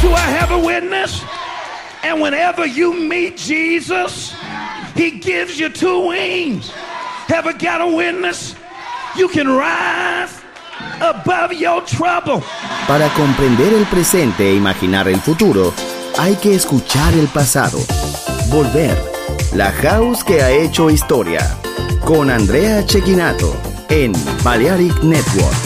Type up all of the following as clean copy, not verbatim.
Do I have a witness? And whenever you meet Jesus, he gives you two wings. Have I got a witness? You can rise above your trouble. Para comprender el presente e imaginar el futuro, hay que escuchar el pasado. Volver. La House que ha hecho historia. Con Andrea Cecchinato en Balearic Network.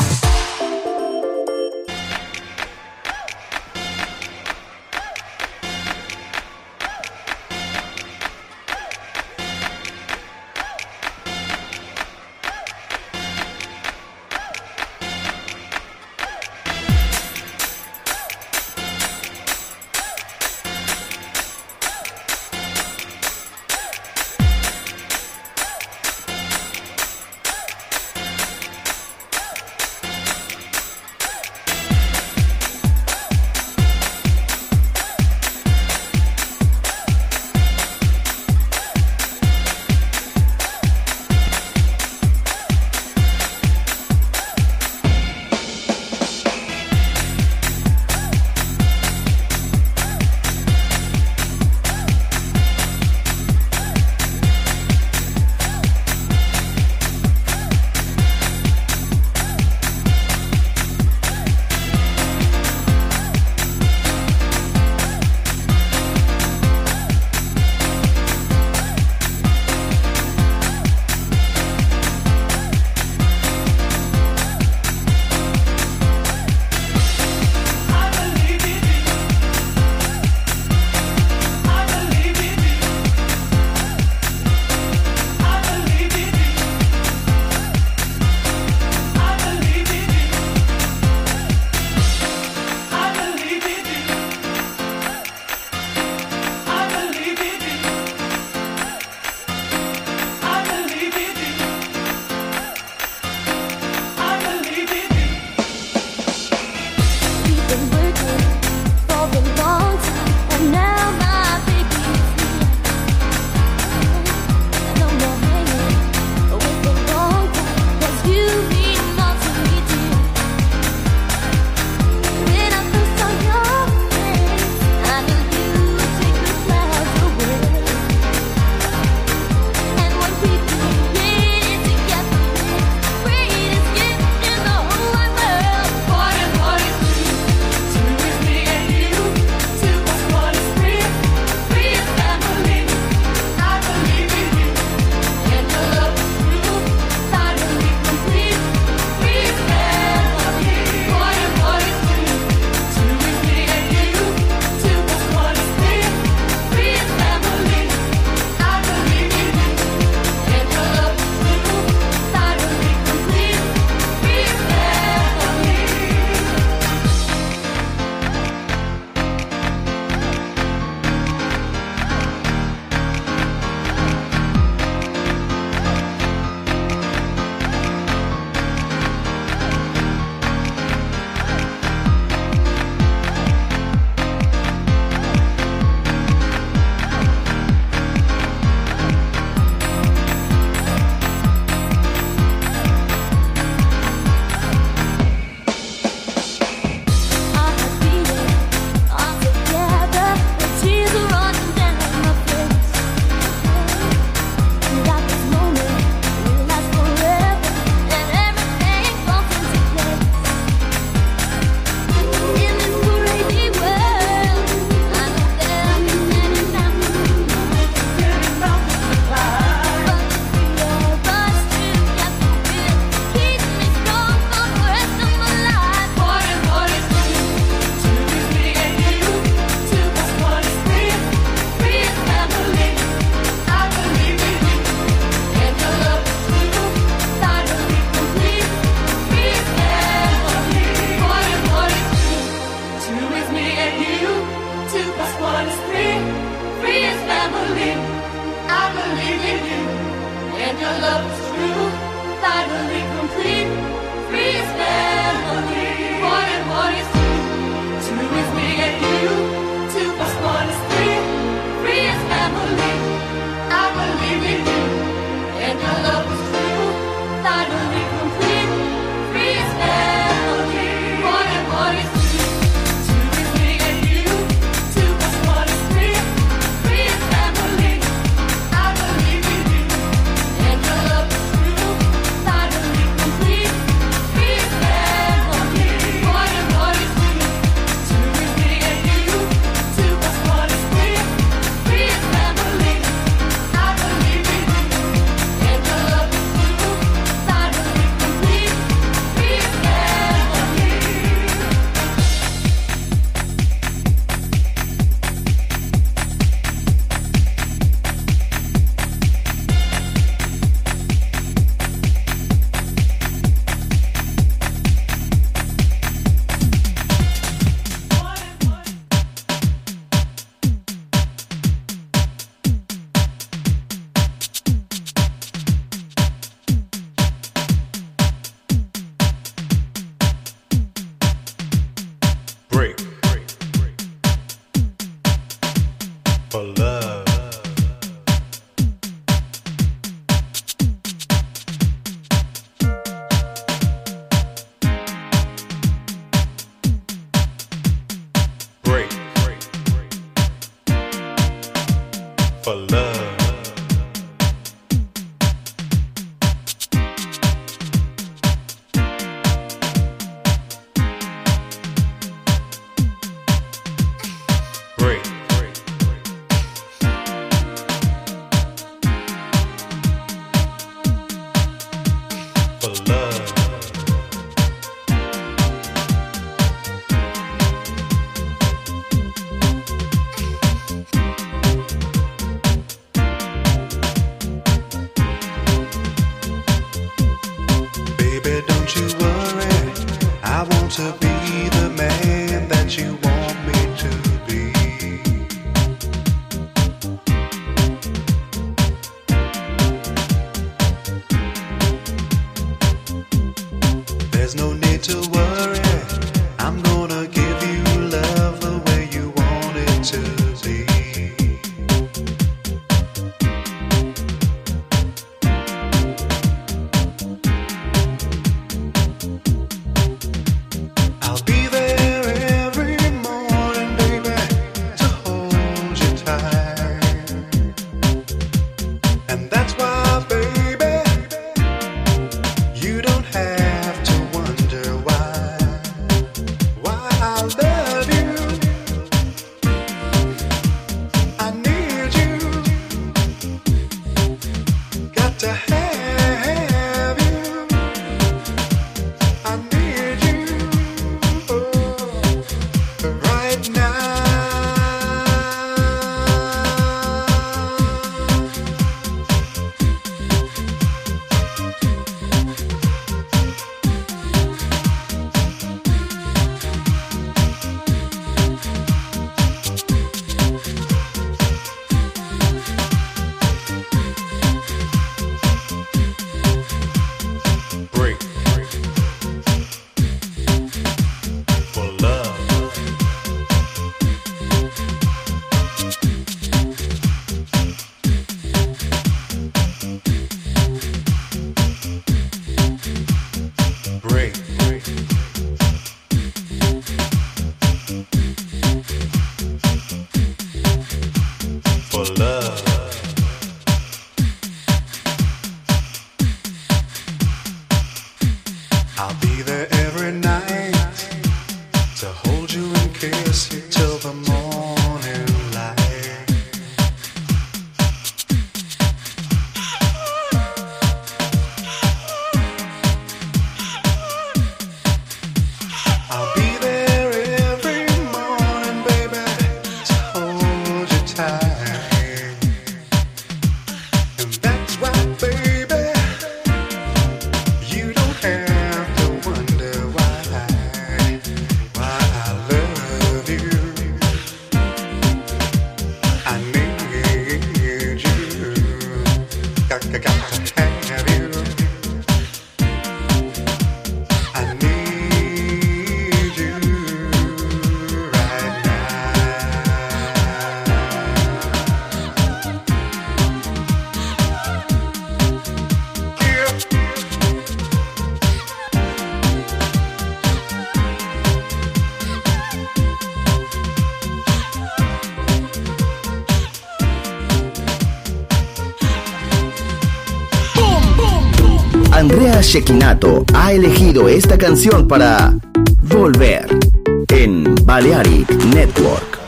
for love. Break for love. Andrea Cecchinato ha elegido esta canción para Volver en Balearic Network.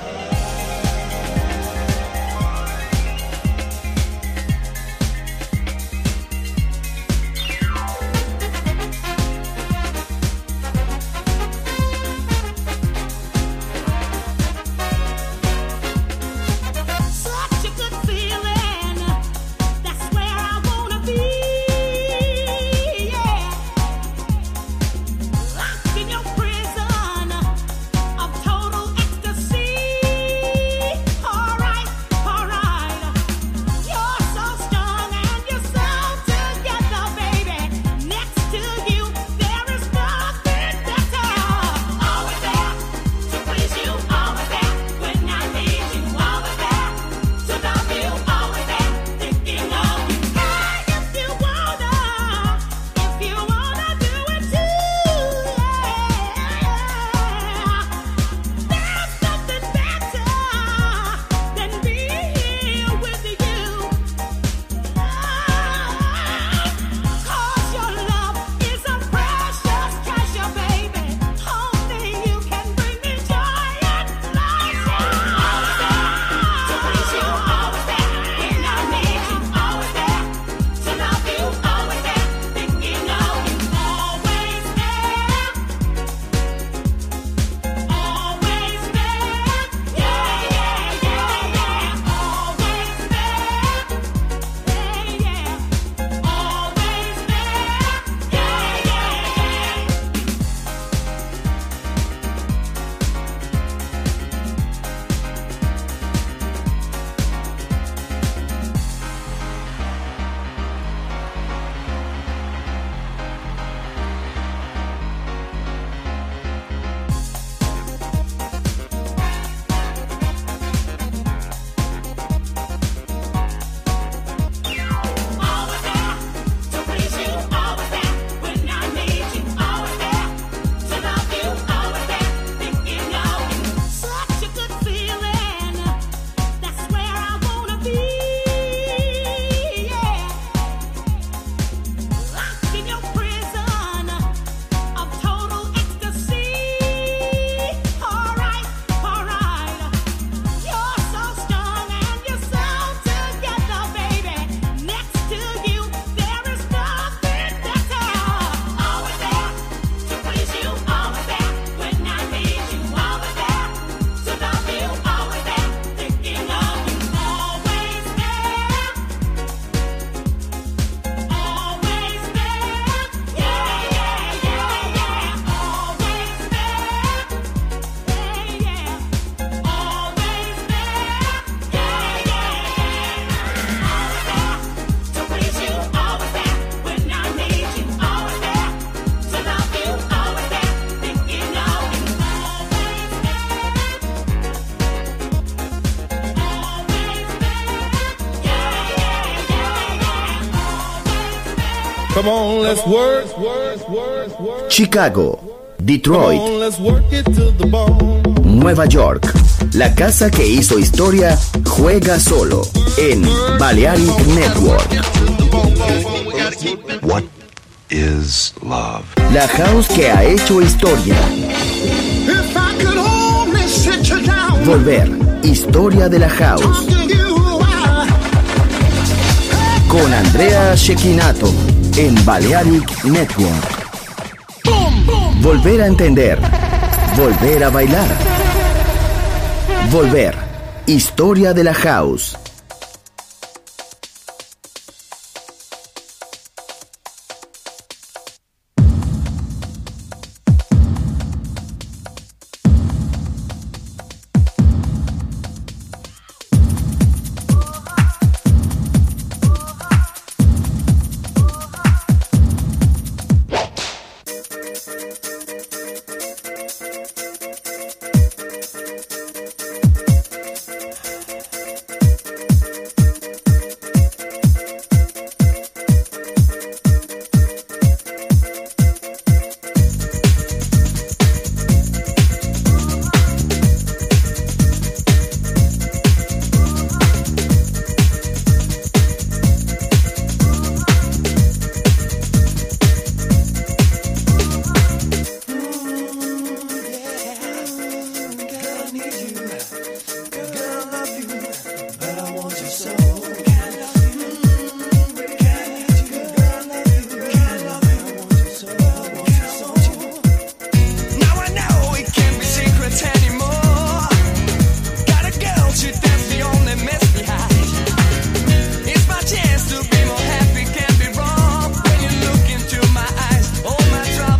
Locked in your prison of total ecstasy. Come on, let's work. Chicago, Detroit, Come on, let's work it to the bone. Nueva York. La casa que hizo historia juega solo en Balearic Network. What is love? La house que ha hecho historia. If I could only sit you down, Volver, historia de la house. talk to you, Con Andrea Cecchinato en Balearic Network. Volver a entender. Volver a bailar. Volver, historia de la house.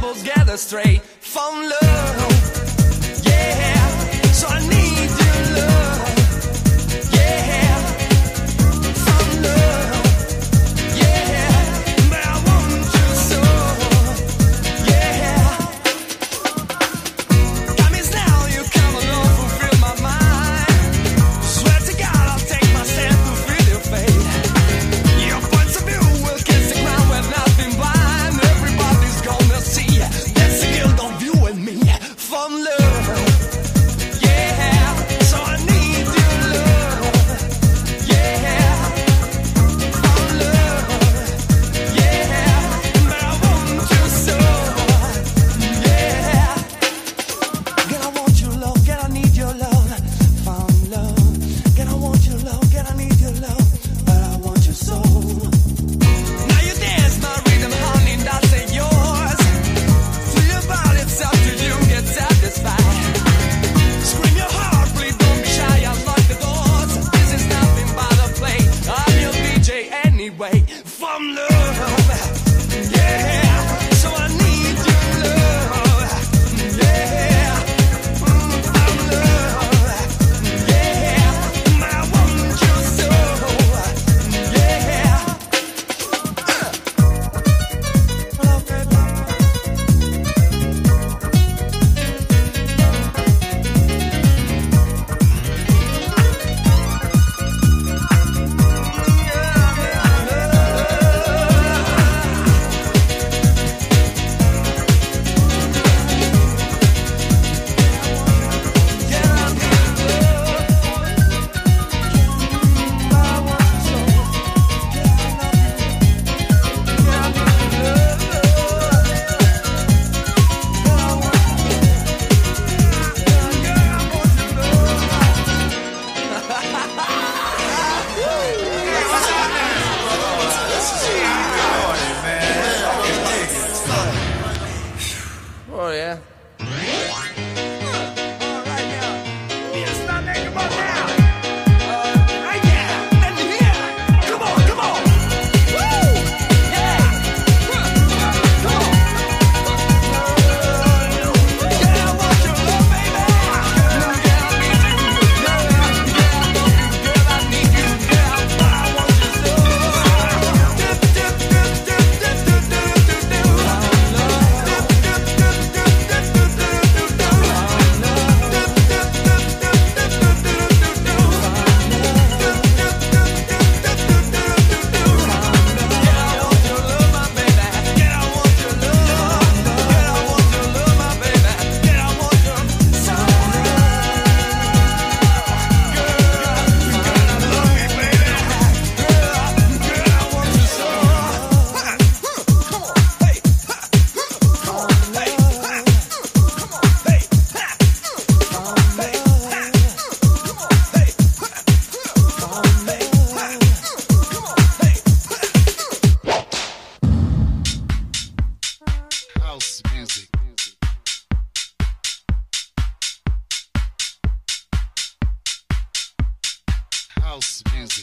Straight from love, yeah. So I need your love. house music.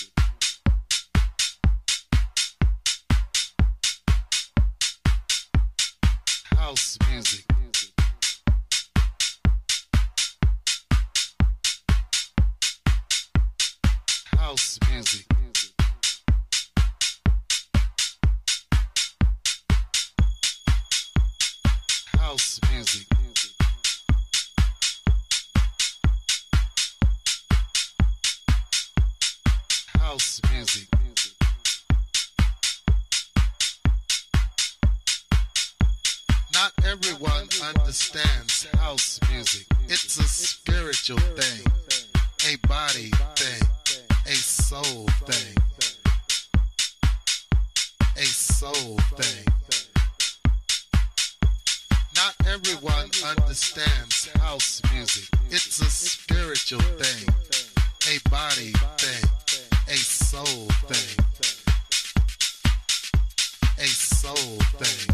House music. House music. House music. House music. Not everyone understands house music. It's a spiritual thing, a body thing, a soul thing, a soul thing. Not everyone understands house music. It's a spiritual thing, a body thing, a soul thing, a soul thing.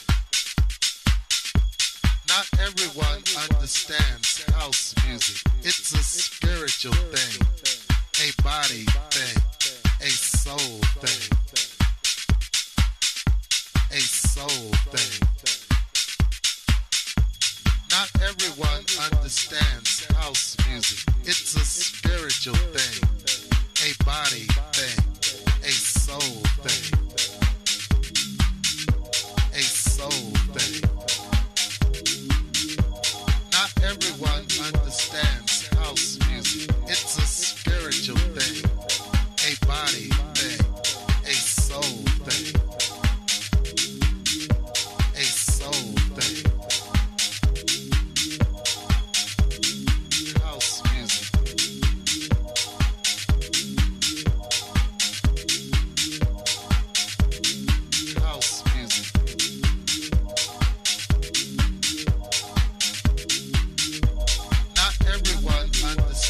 Not everyone understands house music. It's a spiritual thing, a body thing, a soul thing, a soul thing. Not everyone understands house music. It's a spiritual thing, a body thing, a soul thing, a soul thing. Not everyone understands house music. It's a spiritual thing, a body thing, a soul thing, a soul thing. House music. House music. Not everyone understands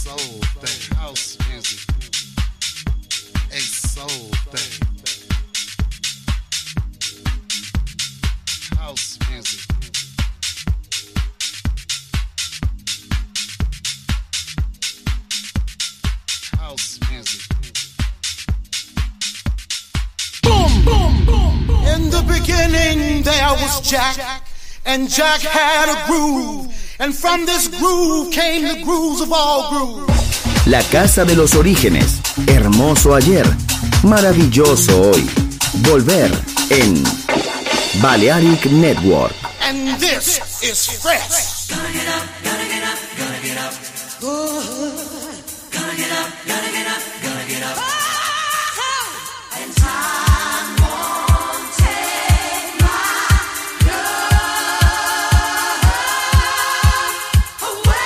soul thing. House music, a soul thing. House music. House music. Boom, boom, boom, boom. In the beginning there was Jack, and Jack had a groove, and from this groove came the grooves of all grooves. La casa de los orígenes, hermoso ayer, maravilloso hoy. Volver en Balearic Network. And this is fresh. Gonna get up, gonna get up, gonna get up. Gonna get up, gonna get up, gonna get up. And time won't take my love away.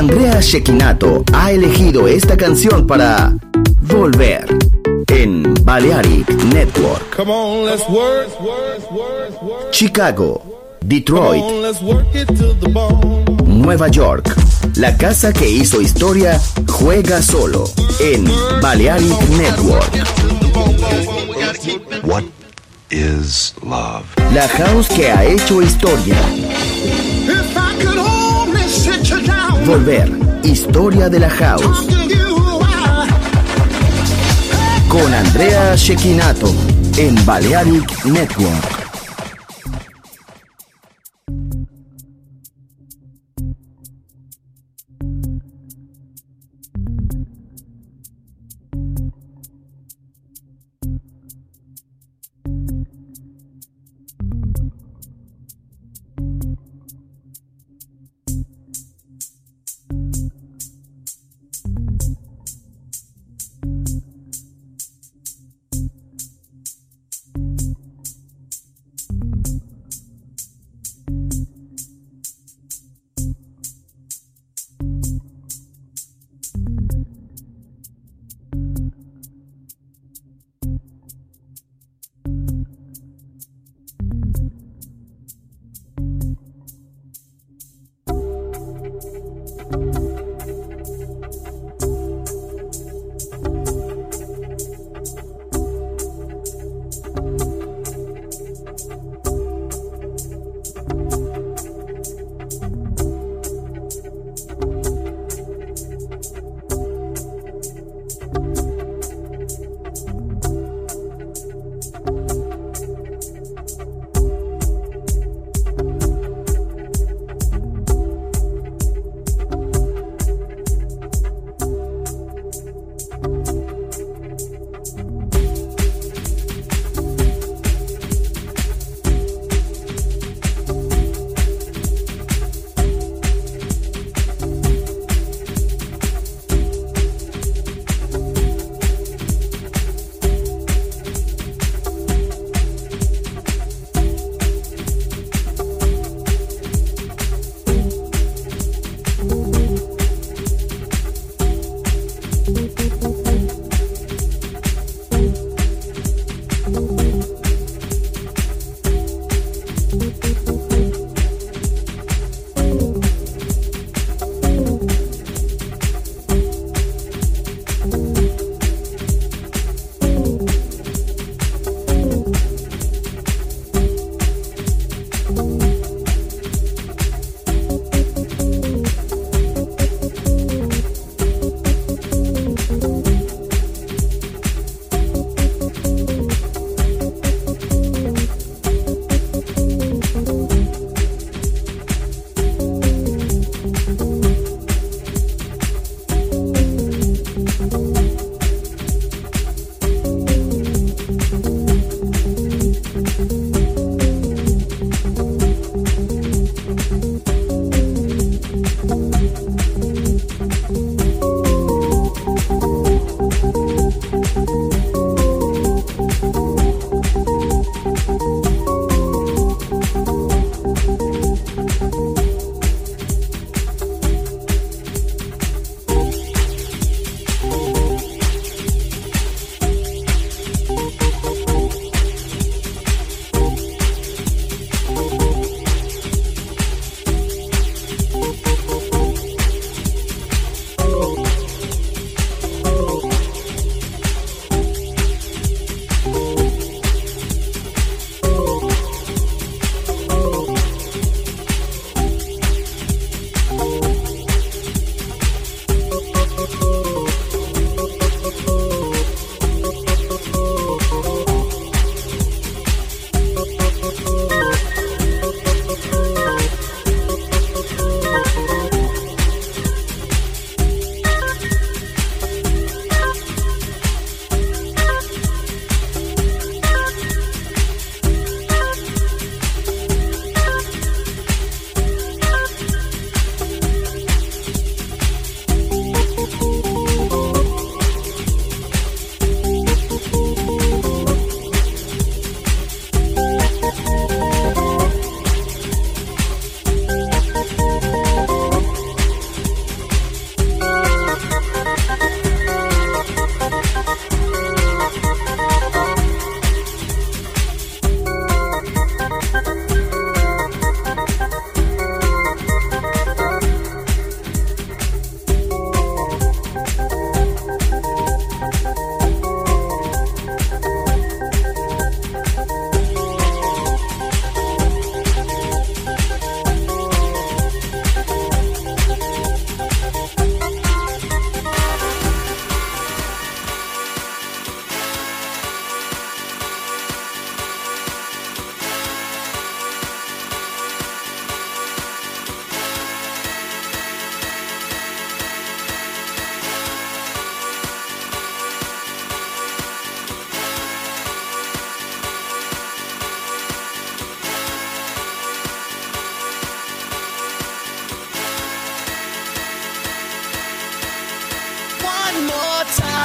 Andrea Cecchinato ha elegido esta canción para volver en Balearic Network. Come on, let's work. Chicago, Detroit, Come on, let's work it to the bone. Nueva York. La casa que hizo historia juega solo en Balearic Network. What is love? La house que ha hecho historia. If I could only sit you down, Volver, historia de la house. talk to you while Con Andrea Cecchinato en Balearic Network.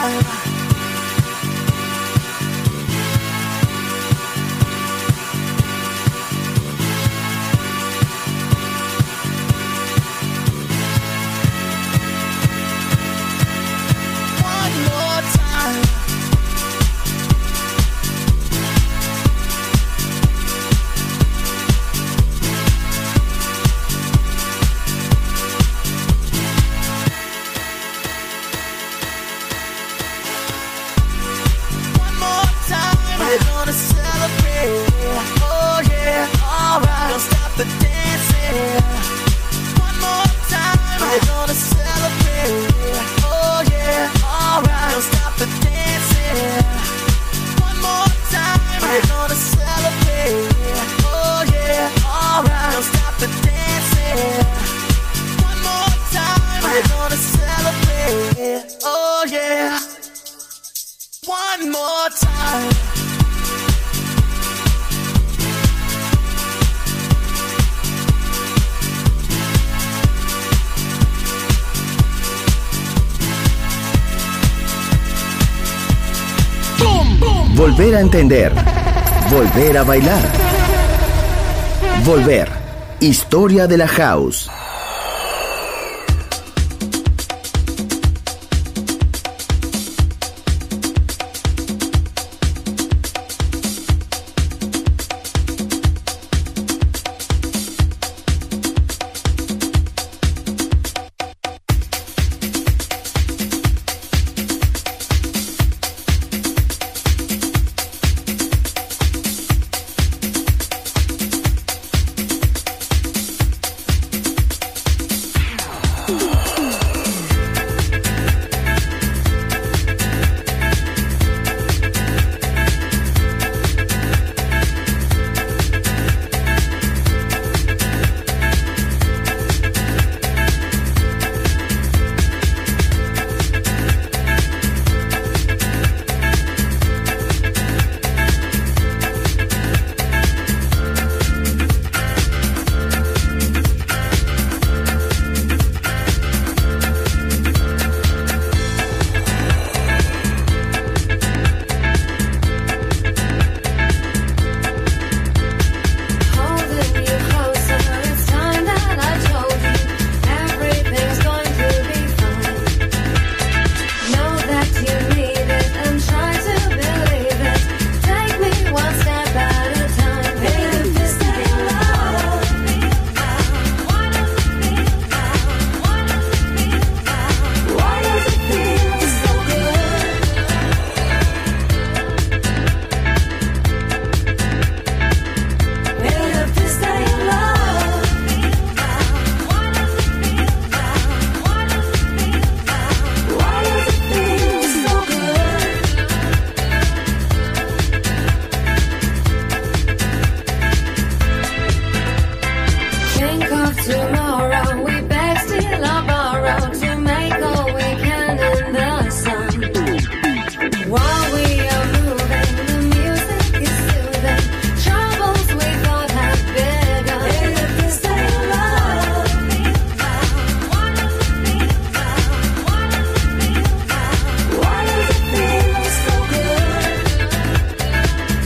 time. One more time. One more time. We're gonna celebrate. Oh yeah, alright. Don't stop the dancing. One more time. We're gonna celebrate. Oh yeah, alright. Don't stop the dancing. One more time. We're gonna celebrate. Oh yeah, alright. Don't stop the dancing. One more time. We're gonna celebrate. Oh yeah. One more time. Volver a entender. Volver a bailar. Volver. Historia de la house.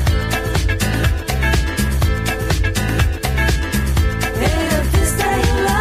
Stay alive.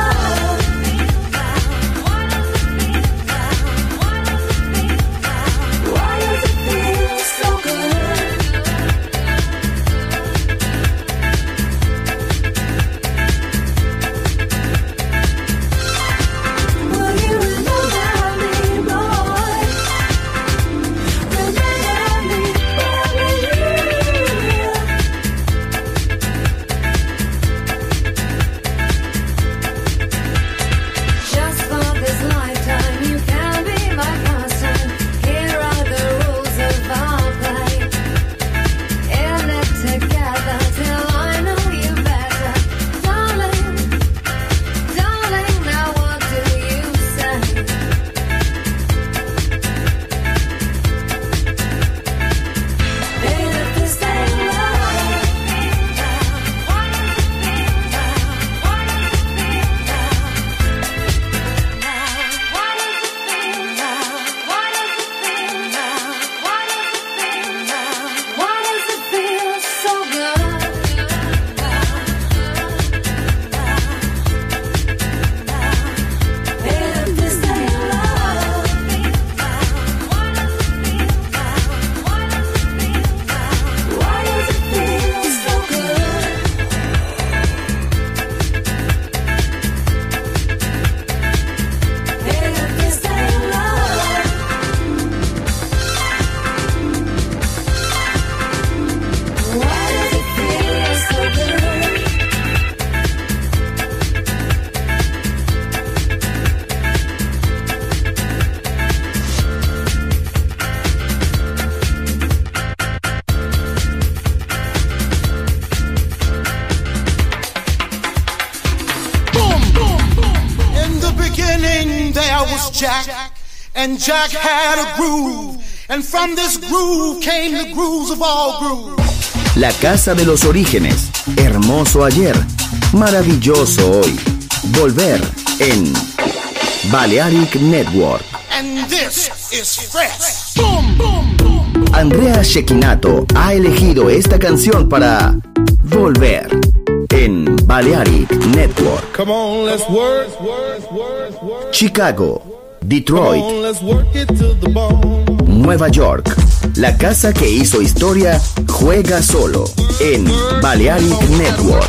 was Jack, and Jack had a groove, and from this groove came the grooves of all grooves. La casa de los orígenes, hermoso ayer, maravilloso hoy. Volver en Balearic Network. And this is fresh. Boom, boom, boom. Andrea Cecchinato ha elegido esta canción para Volver en Balearic Network. Come on, let's work. Chicago, Detroit, Come on, let's work it to the bone. Nueva York. La casa que hizo historia juega solo en Balearic Network.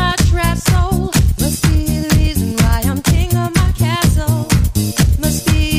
Must be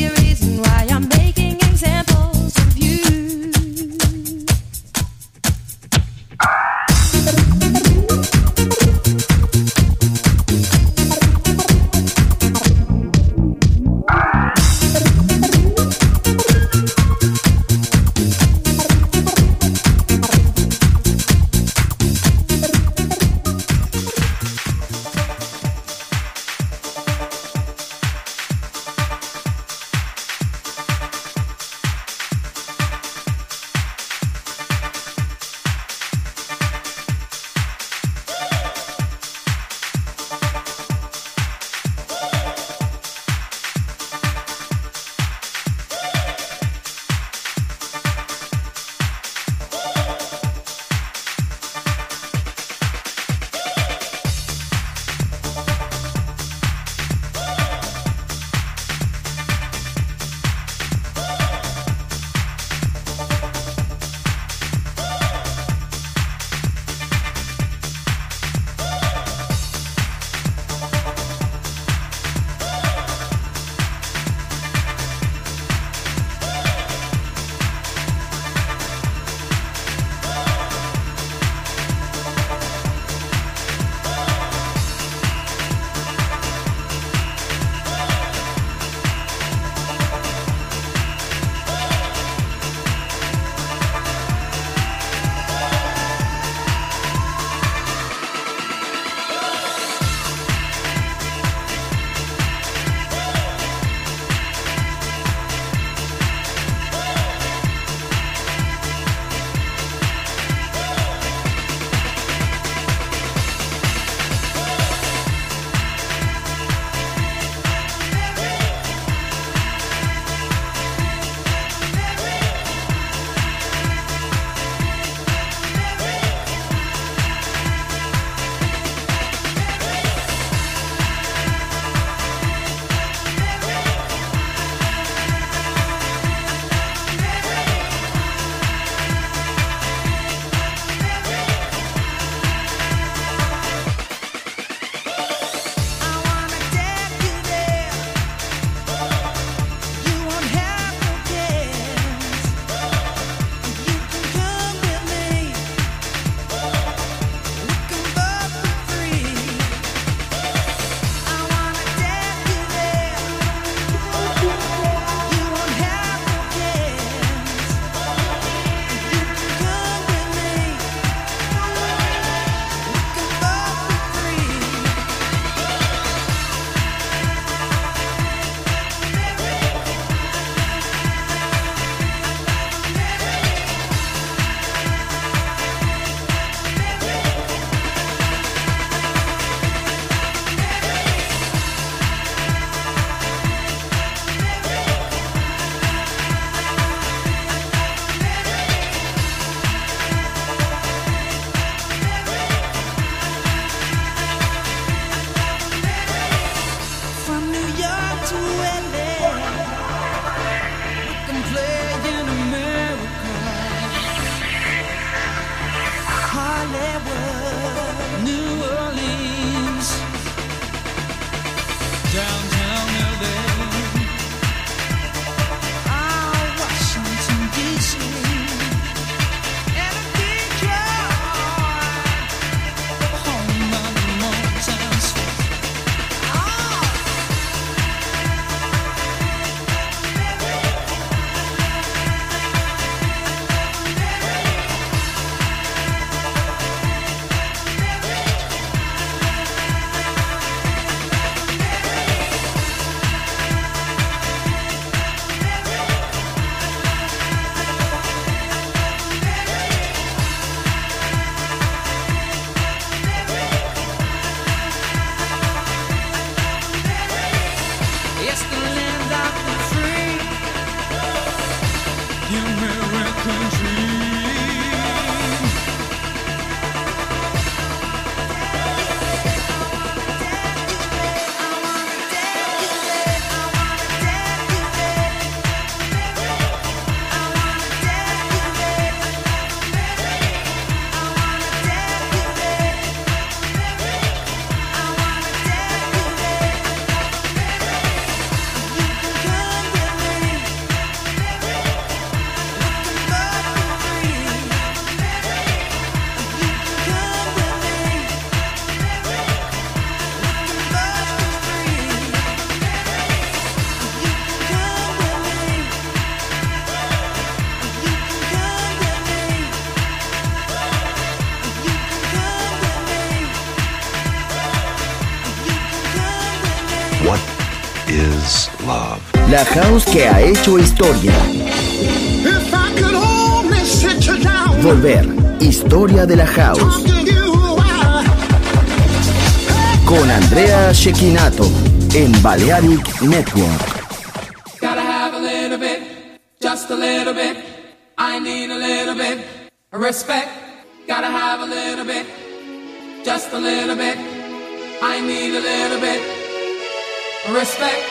is love. La house que ha hecho historia. If I could only sit you down, Volver. Historia de la house. talk to you while Con Andrea Cecchinato en Balearic Network. Gotta have a little bit, just a little bit. I need a little bit of respect. Gotta have a little bit, just a little bit. I need a little bit of respect.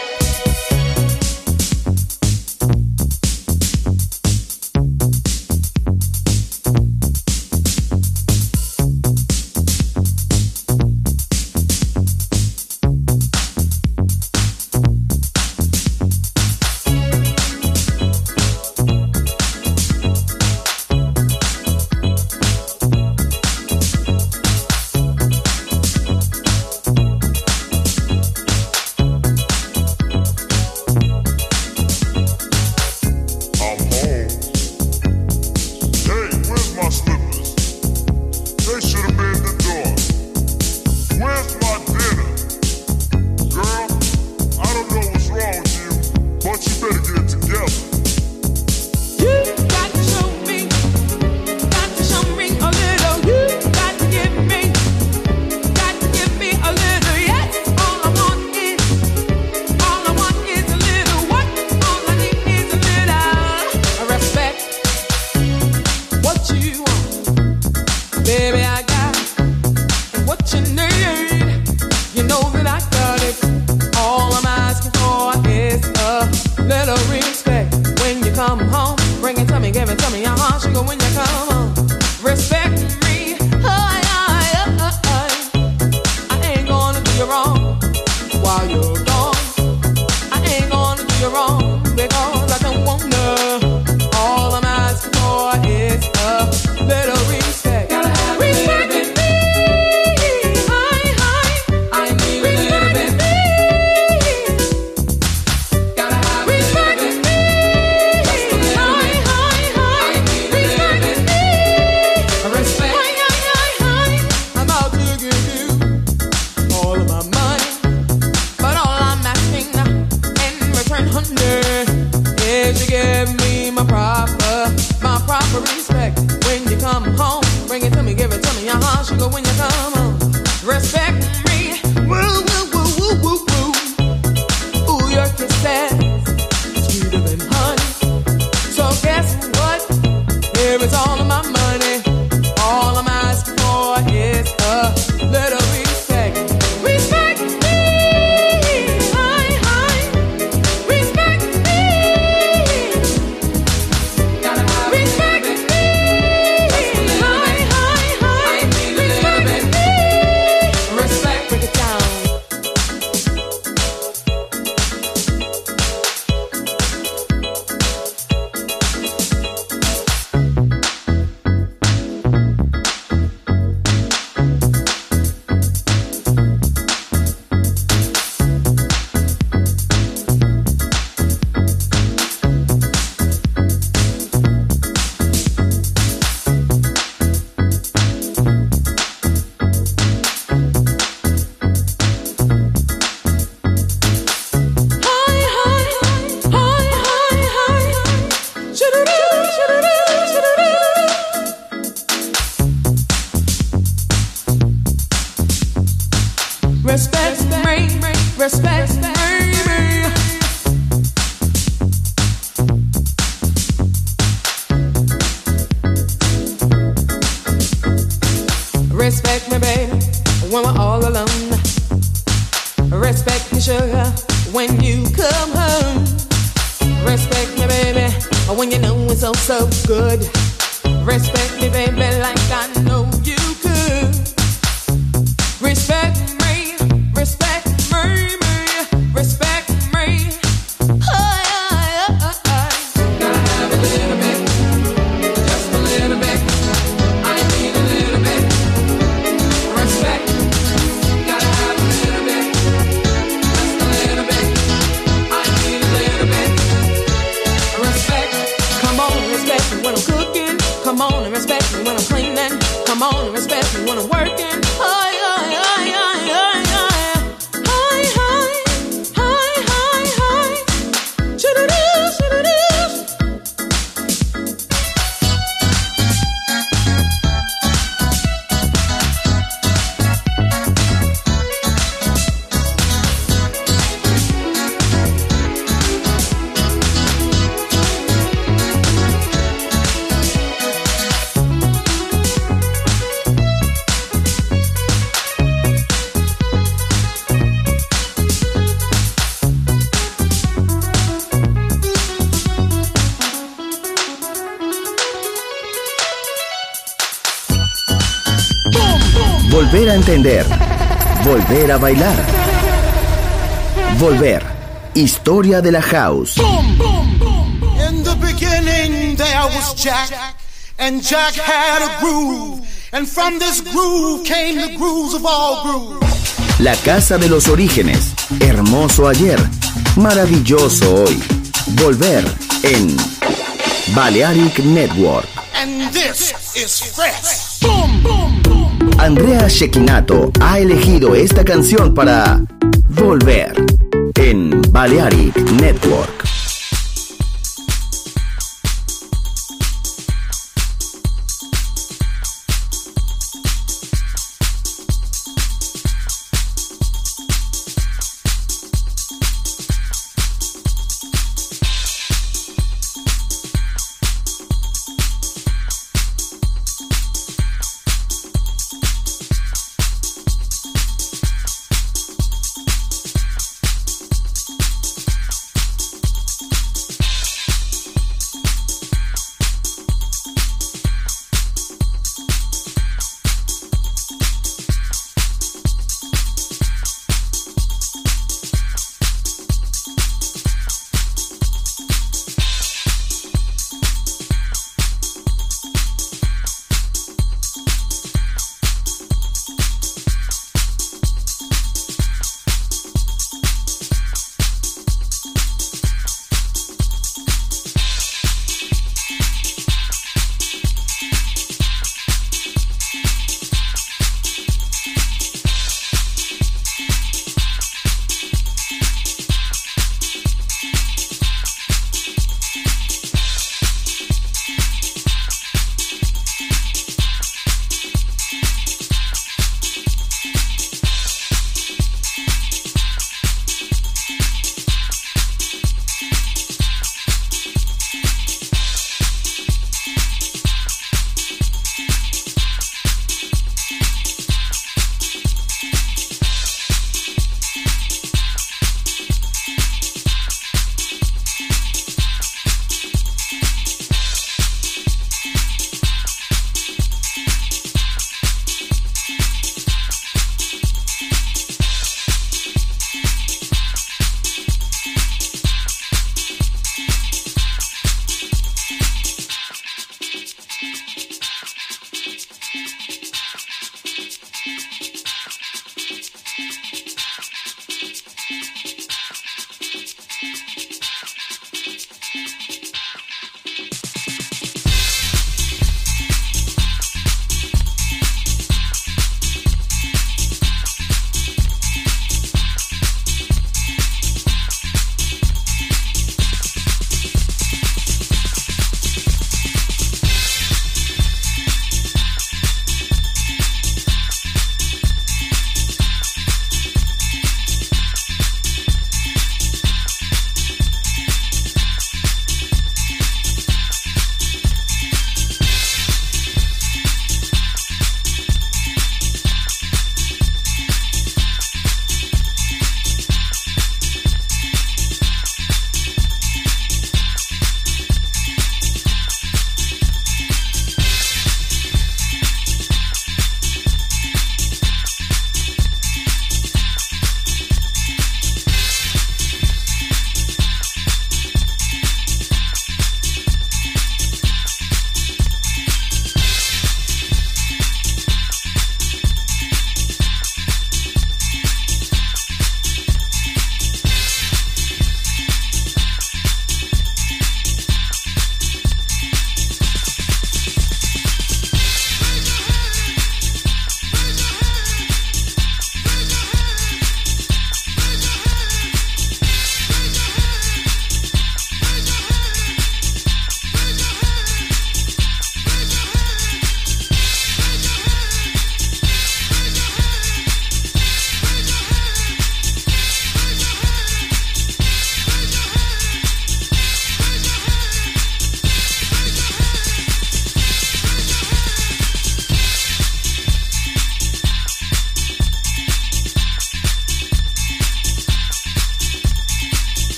Volver a entender. Volver a bailar. Volver. Historia de la house. In the beginning there was Jack, and Jack had a groove, and from this groove came the grooves of all grooves. La casa de los orígenes. Hermoso ayer. Maravilloso hoy. Volver en Balearic Network. And this is fresh. Andrea Cecchinato ha elegido esta canción para Volver en Balearic Network.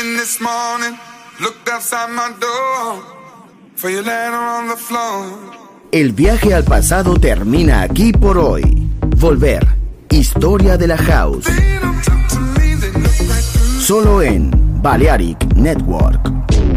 in this morning, looked outside my door for your letter on the floor. El viaje al pasado termina aquí por hoy. Volver. Historia de la House. Solo en Balearic Network.